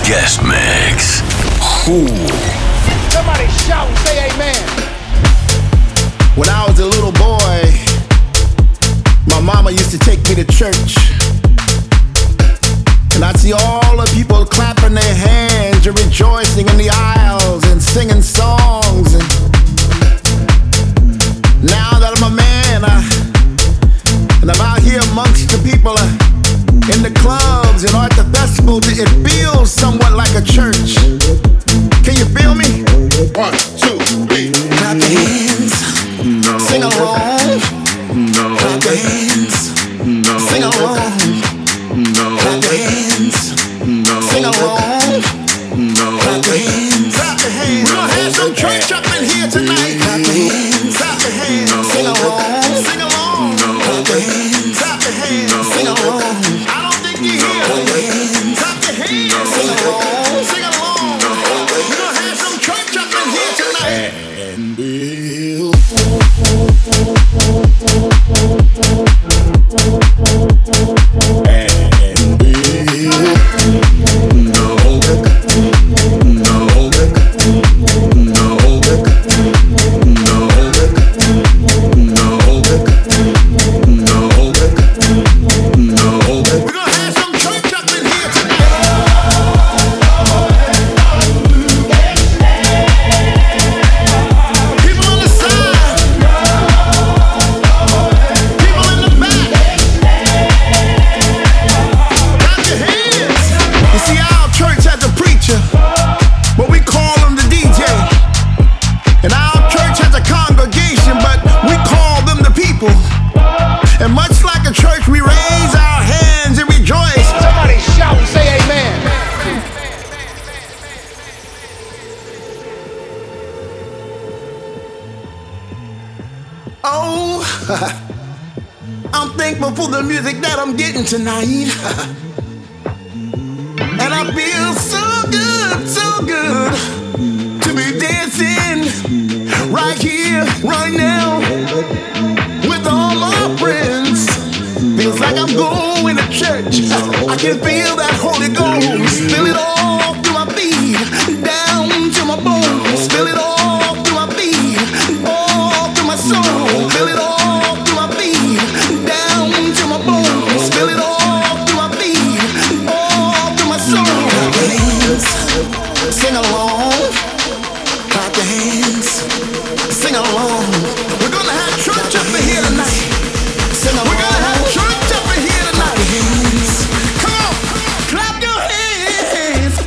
Guest mix. Ooh. Somebody shout and say amen. When I was a little boy, my mama used to take me to church. And I'd see all the people clapping their hands and rejoicing in the aisles and singing songs. And now that I'm a man, and I'm out here amongst the people in the clubs and at the festivals, it feels somewhat like a church. Can you feel me? 1, 2, 3. Clap your hands. No. Sing along. No. Clap your hands. No. Sing along. No. Clap your hands. No. Sing along. No. Clap your hands. Clap your hands. We're gonna have some church up in here tonight. Clap your hands. Clap your hands. Sing along. Sing along. Clap your hands. Clap your hands. Sing along. I don't think you hear. Clap your hands. Clap your hands. Sing along. Sing along. We're gonna have some church up in here tonight. And we'll I'm thankful for the music that I'm getting tonight. And I feel so good to be dancing right here, right now, with all my friends. Feels like I'm going to church. I can feel that Holy Ghost. Feel it all through my feet, down to my bones. Feel it all through my feet, all through my soul. Feel it all. Feel it all through my feet, all through my soul. Clap your hands, sing along. Clap your hands, sing along. We're gonna have church up in here tonight. Sing along. We're gonna have church up in here tonight. Clap your hands. Come on, clap your hands.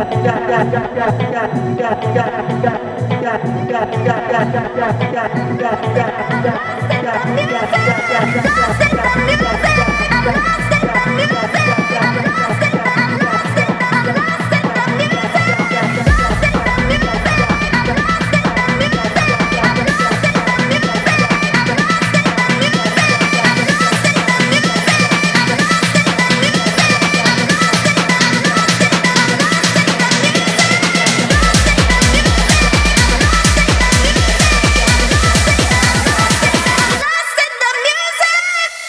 Lost in the music.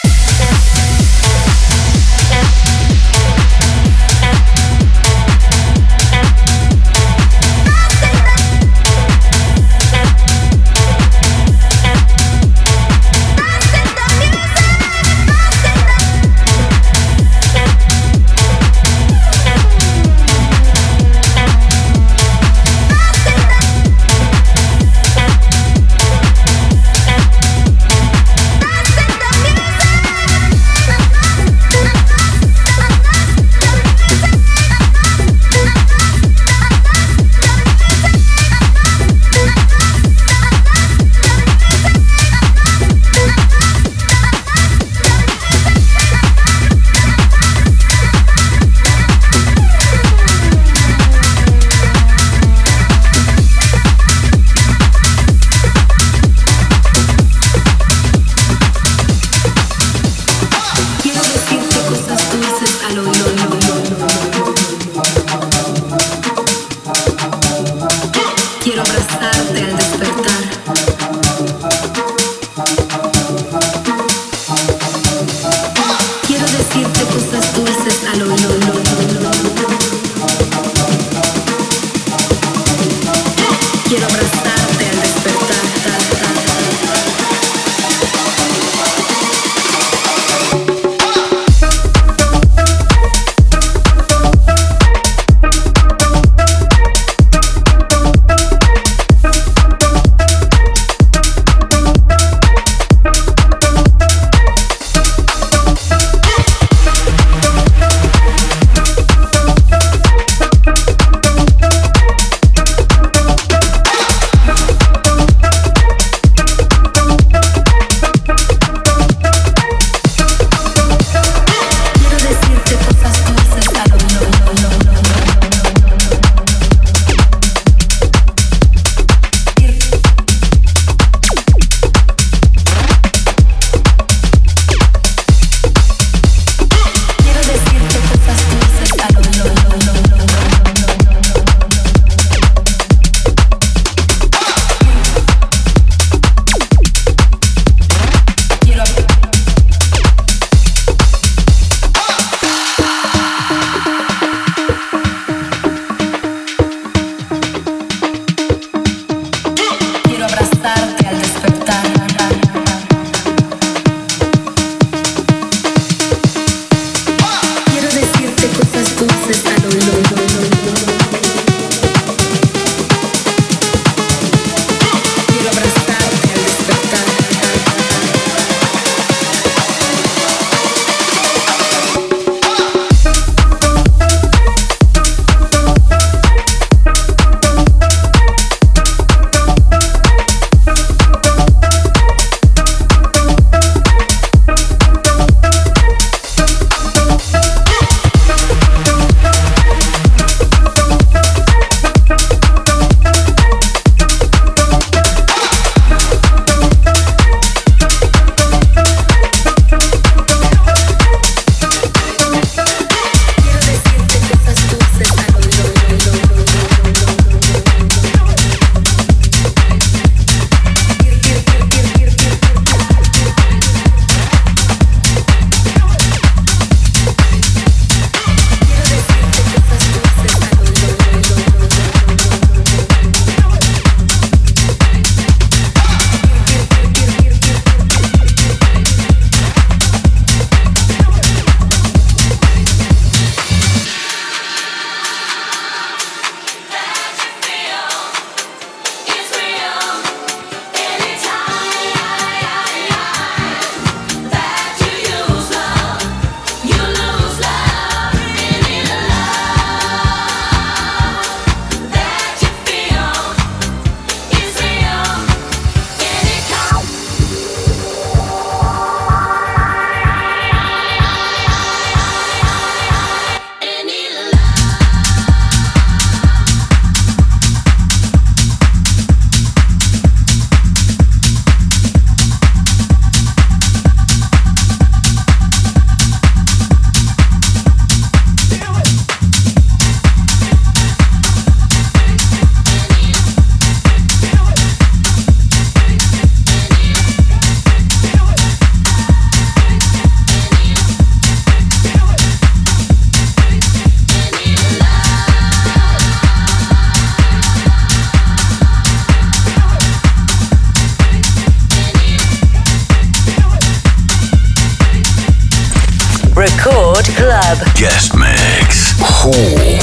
Club. Guest mix. Who?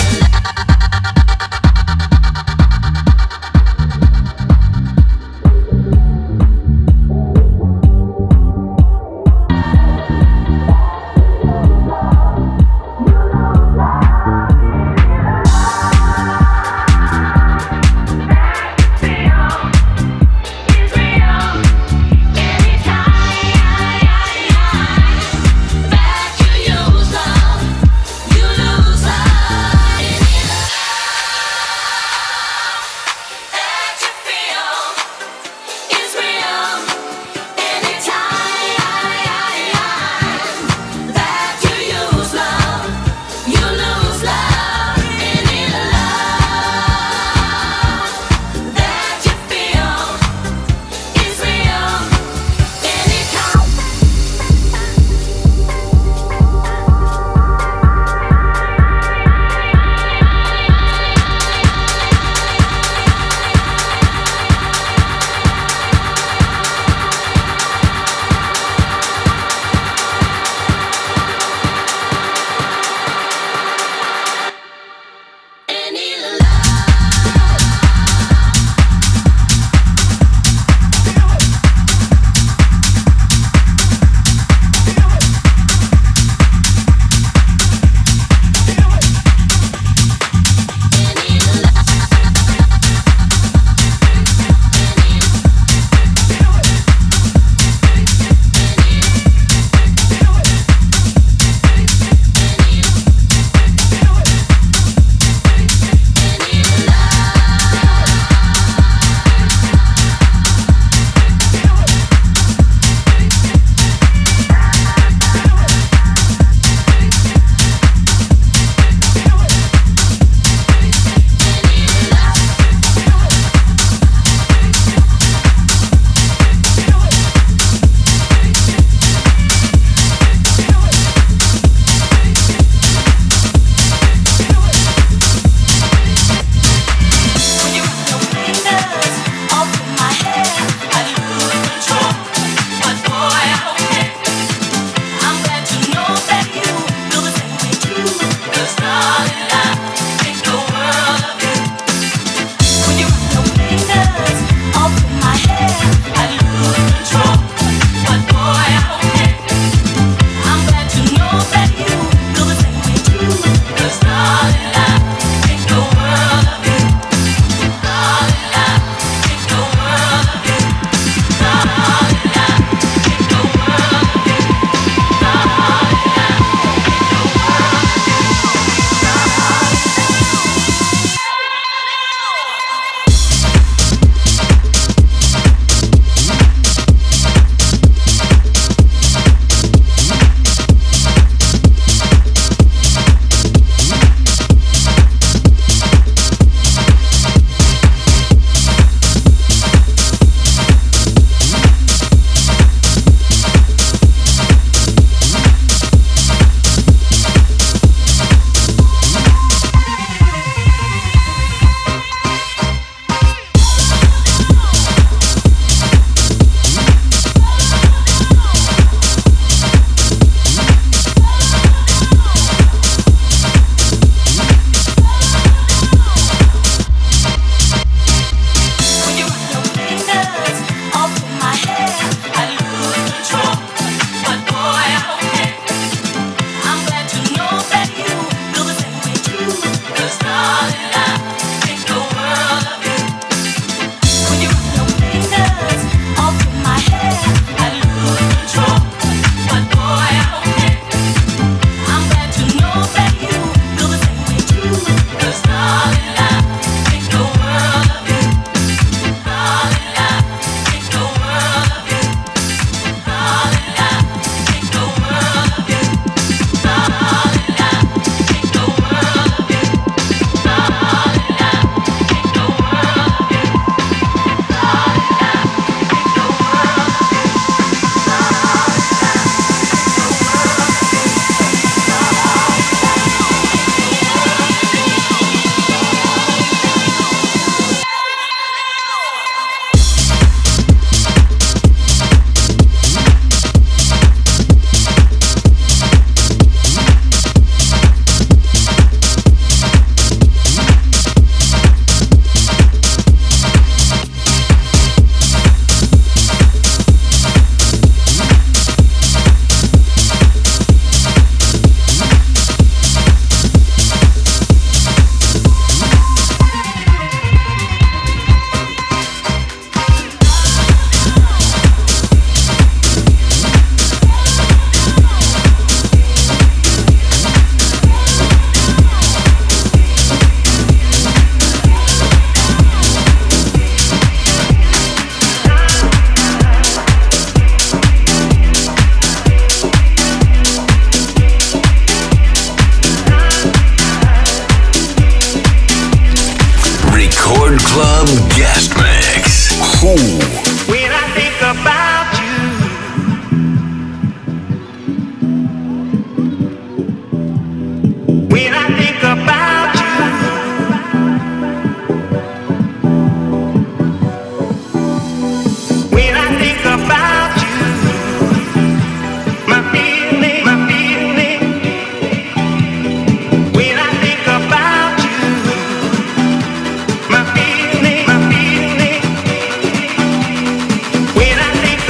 You lose Record Club Guest Mix. Who? When I think about you, when I think about you, when I think about you, my feeling, when I think about you, my feeling, when I think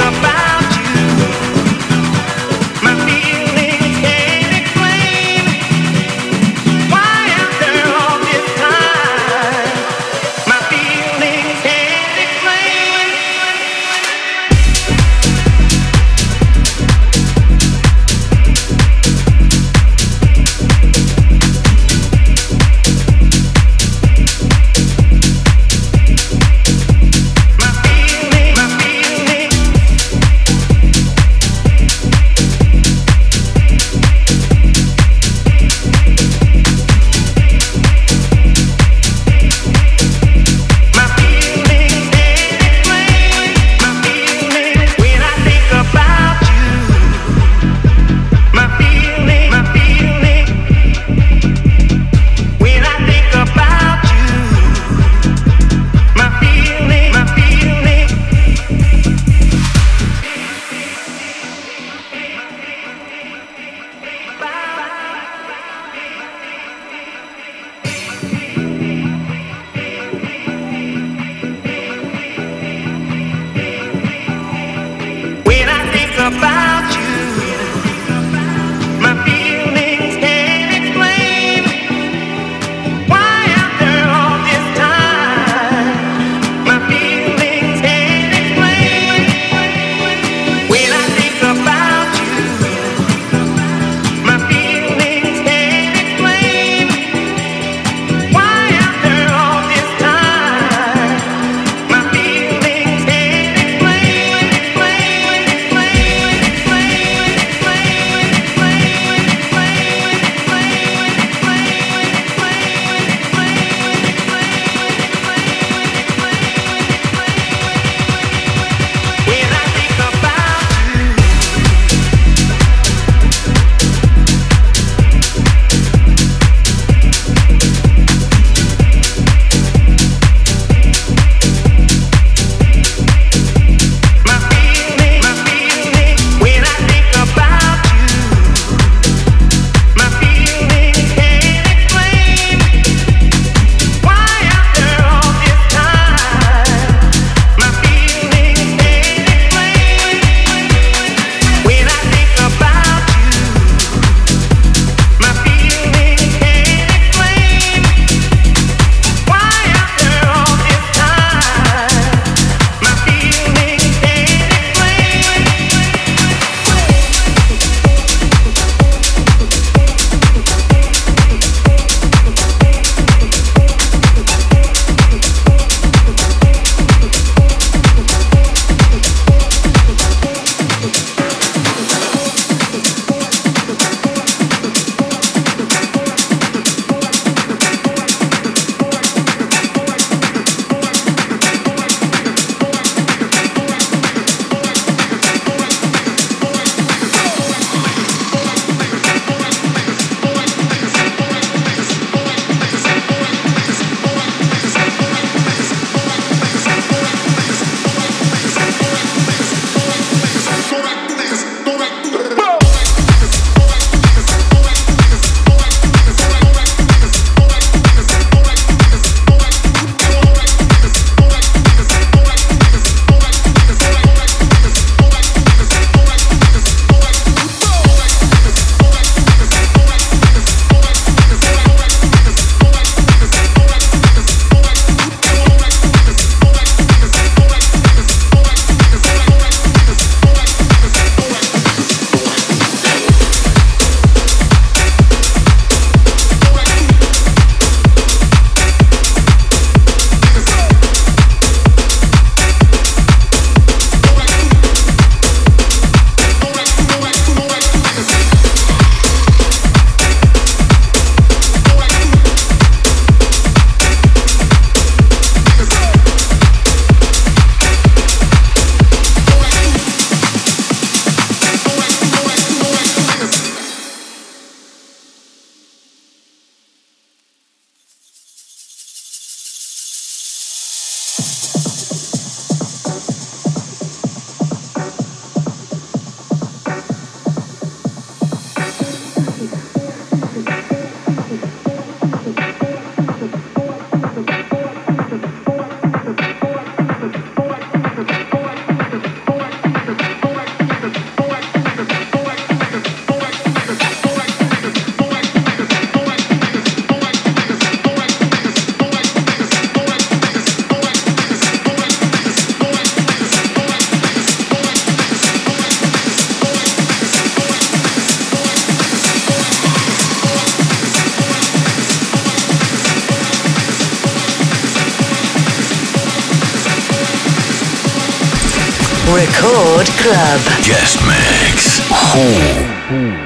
Record Club. Guest mix. Who?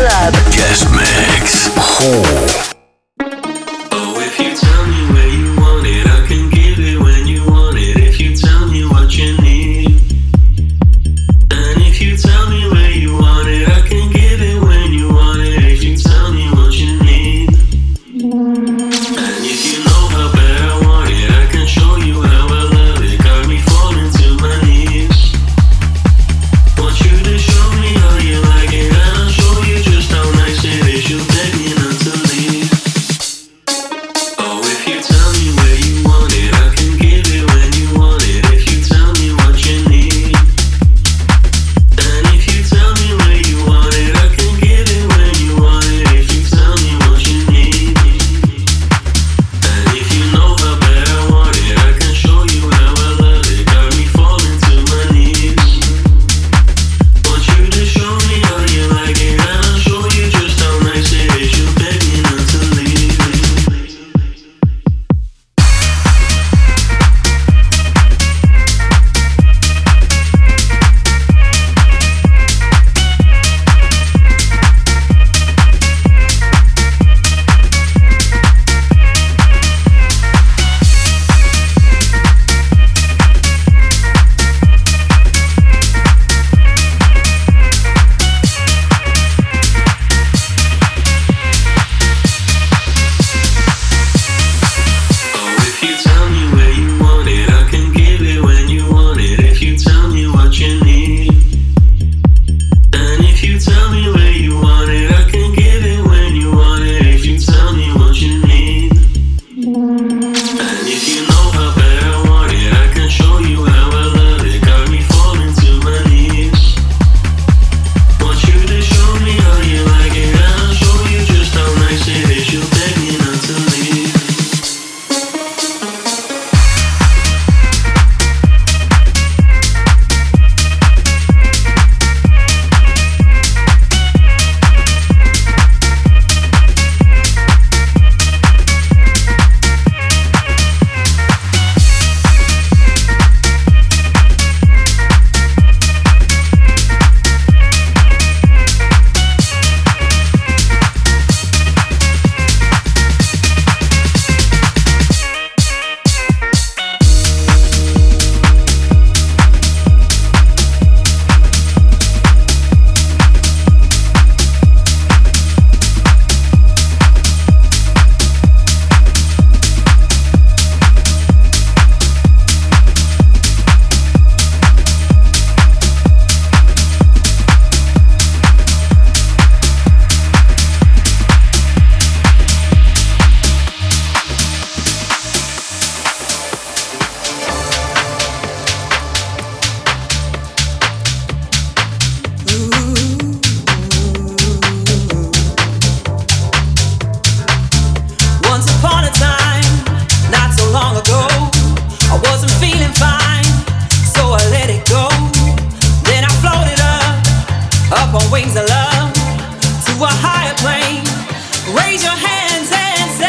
Club. Guest mix. Oh, if you tell me where you want it, I can give it when you want it. If you tell me what you need, and if you tell me where you want it, I can give it when you want it. If you tell me what you need, and if you know how bad I want it, I can show you how I love it. Got me falling to my knees. Want you to show me how you like it, and I'll show you just how nice it is. You beg me not to leave. Oh, if you tell me where you want it, I can give it when you want it. If you tell me what you need, and if you tell me where you want it, I can give it when you want it. If you tell me what you need, and if you know how bad I want it, I can show you how I love it. Got me falling to my knees. Want you to show me how you like it, and I'll show you just how nice it is. You beg me not to leave. Oh, if you tell me where you want it, I can give it when you want it. If you tell me what you need, and if you tell me where you want it, I can give it when you want it. If you tell me what you need, and if you know how bad I want it, I can show you how I love it. Got me falling to my knees. Want you to show me how you like it, and I'll show you just how nice it is. You beg me not to leave. Once upon a time, not so long ago, I wasn't feeling fine, so I let it go. Then I floated up on wings of love, to a higher plane. Raise your hands and say,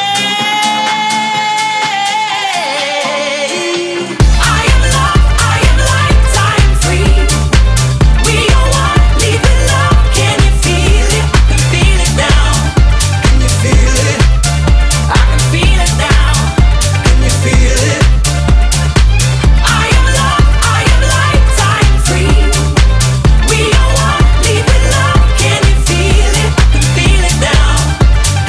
I am love, I am lifetime free. We are one, live in love. Can you feel it? I can feel it now. Can you feel it? I can feel it now. Can you feel it? I am love, I am lifetime free. We are one, live in love. Can you feel it? I can feel it now.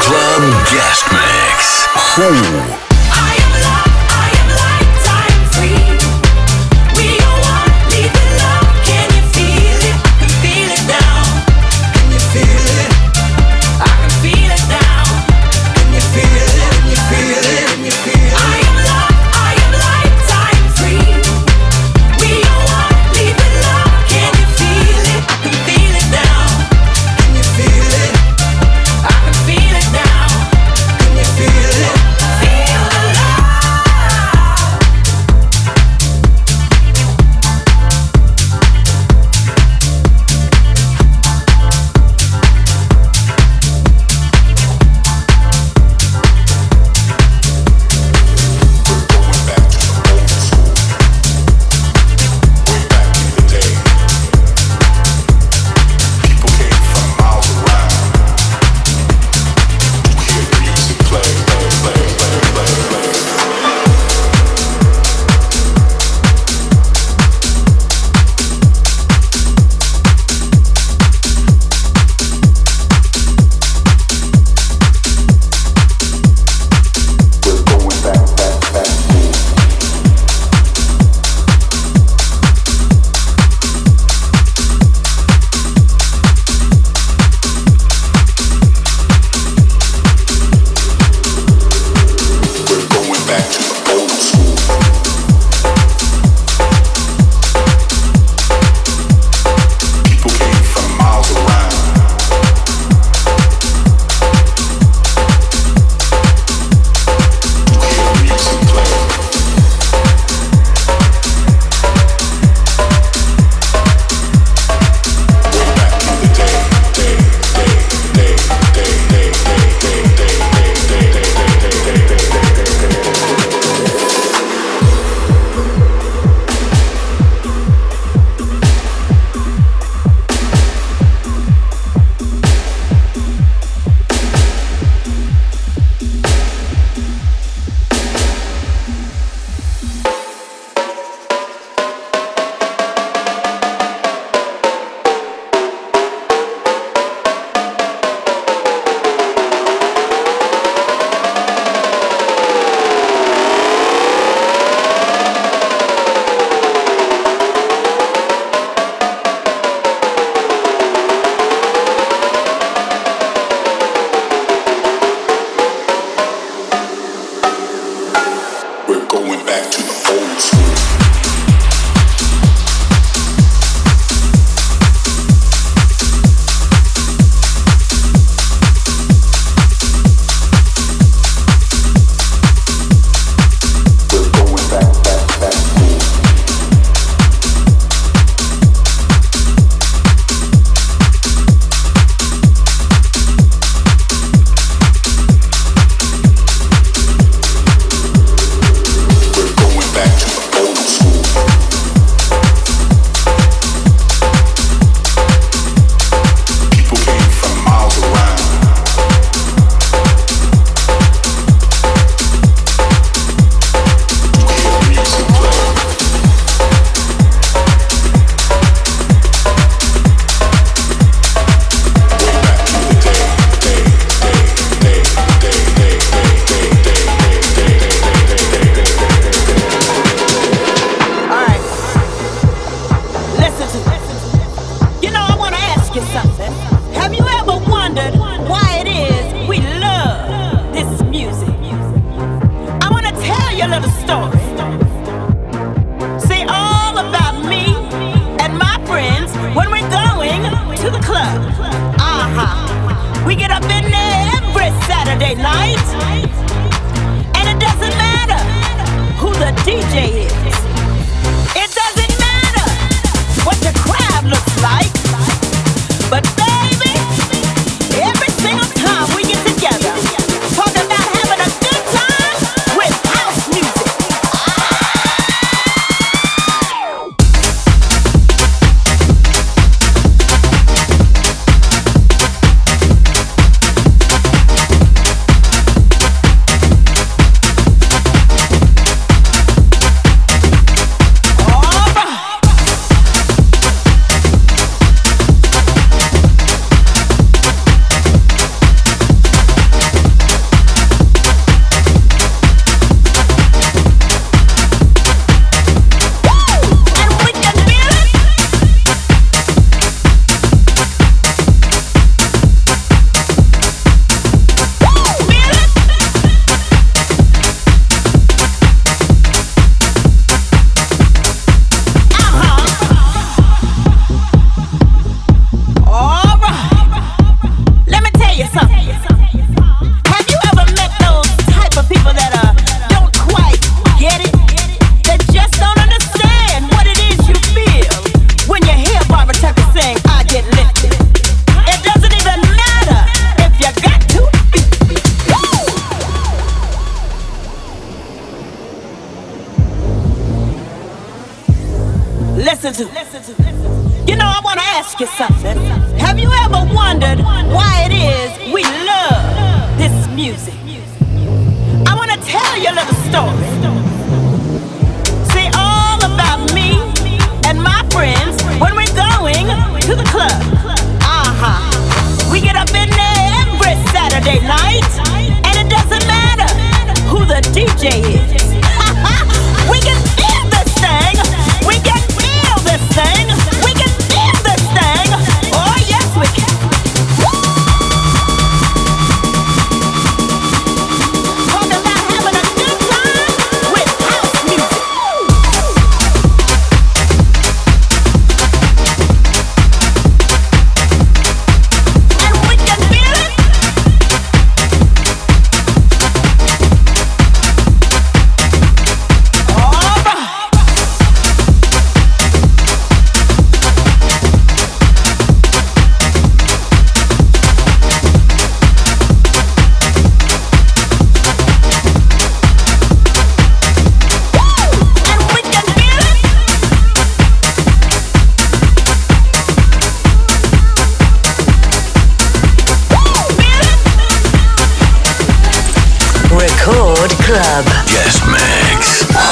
Club Guest Mix. Who?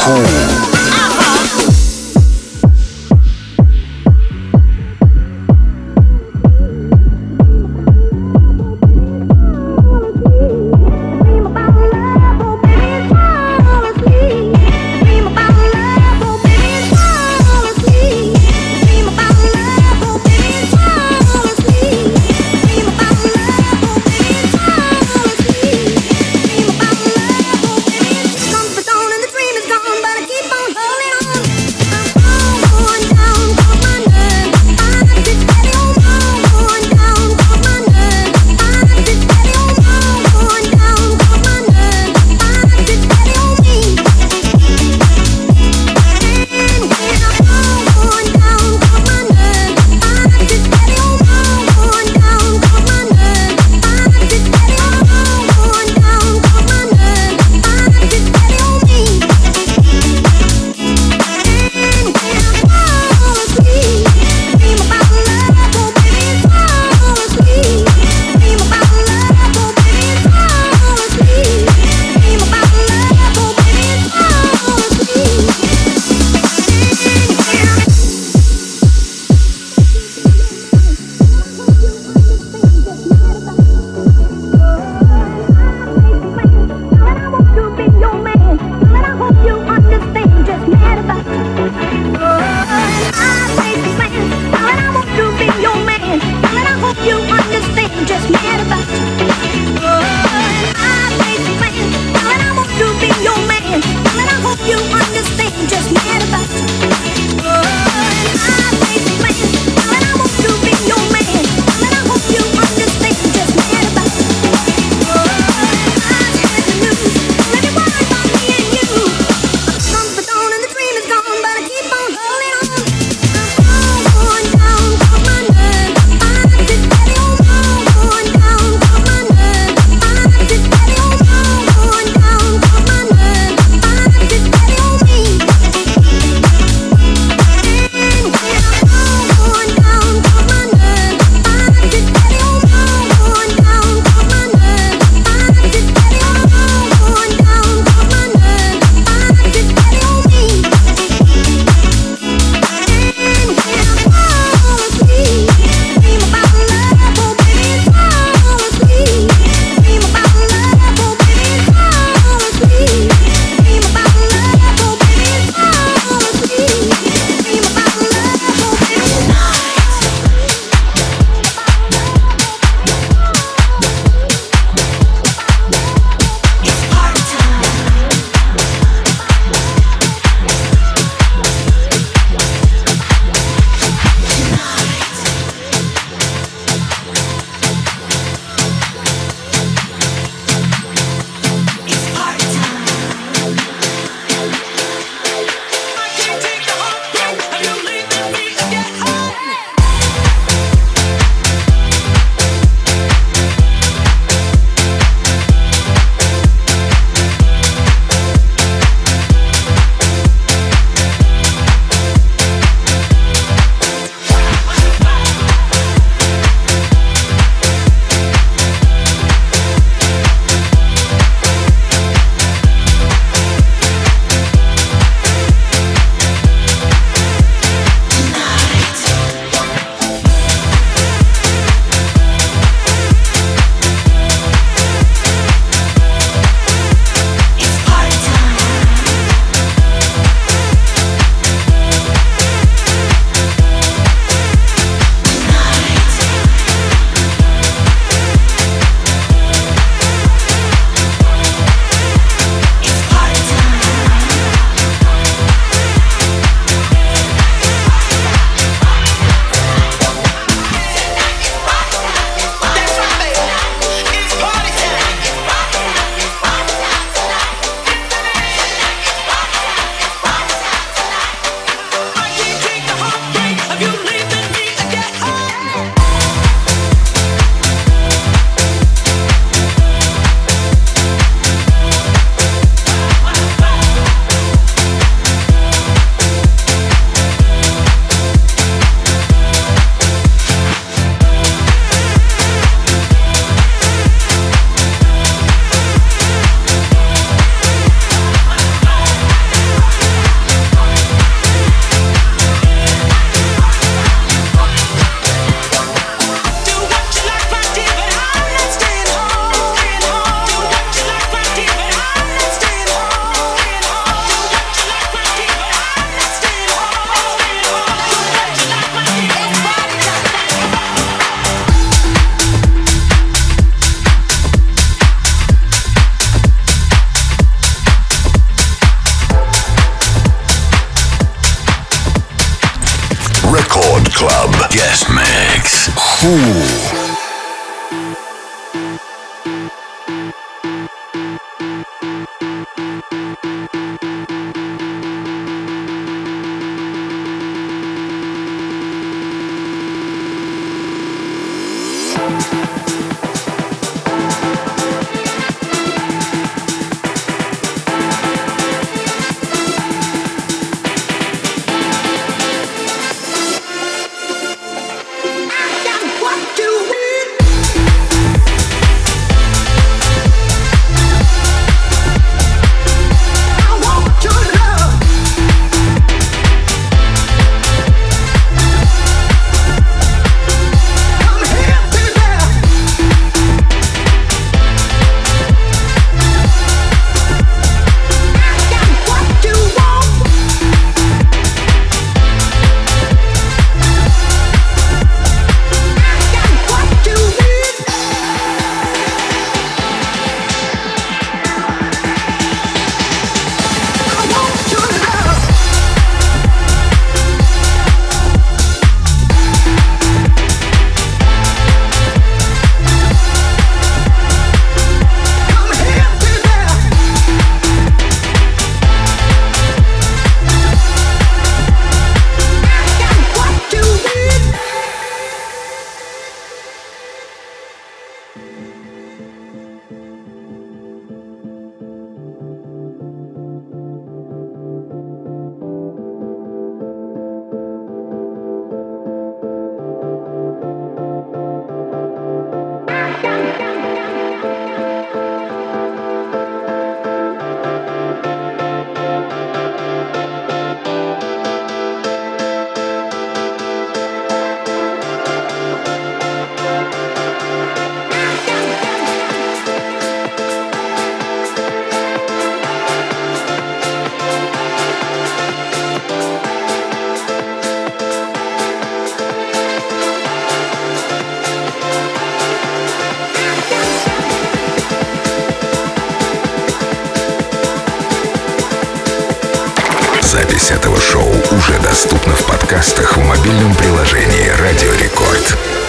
Comfort zone and the dream is gone, but I этого шоу уже доступна в подкастах в мобильном приложении «Радио Рекорд».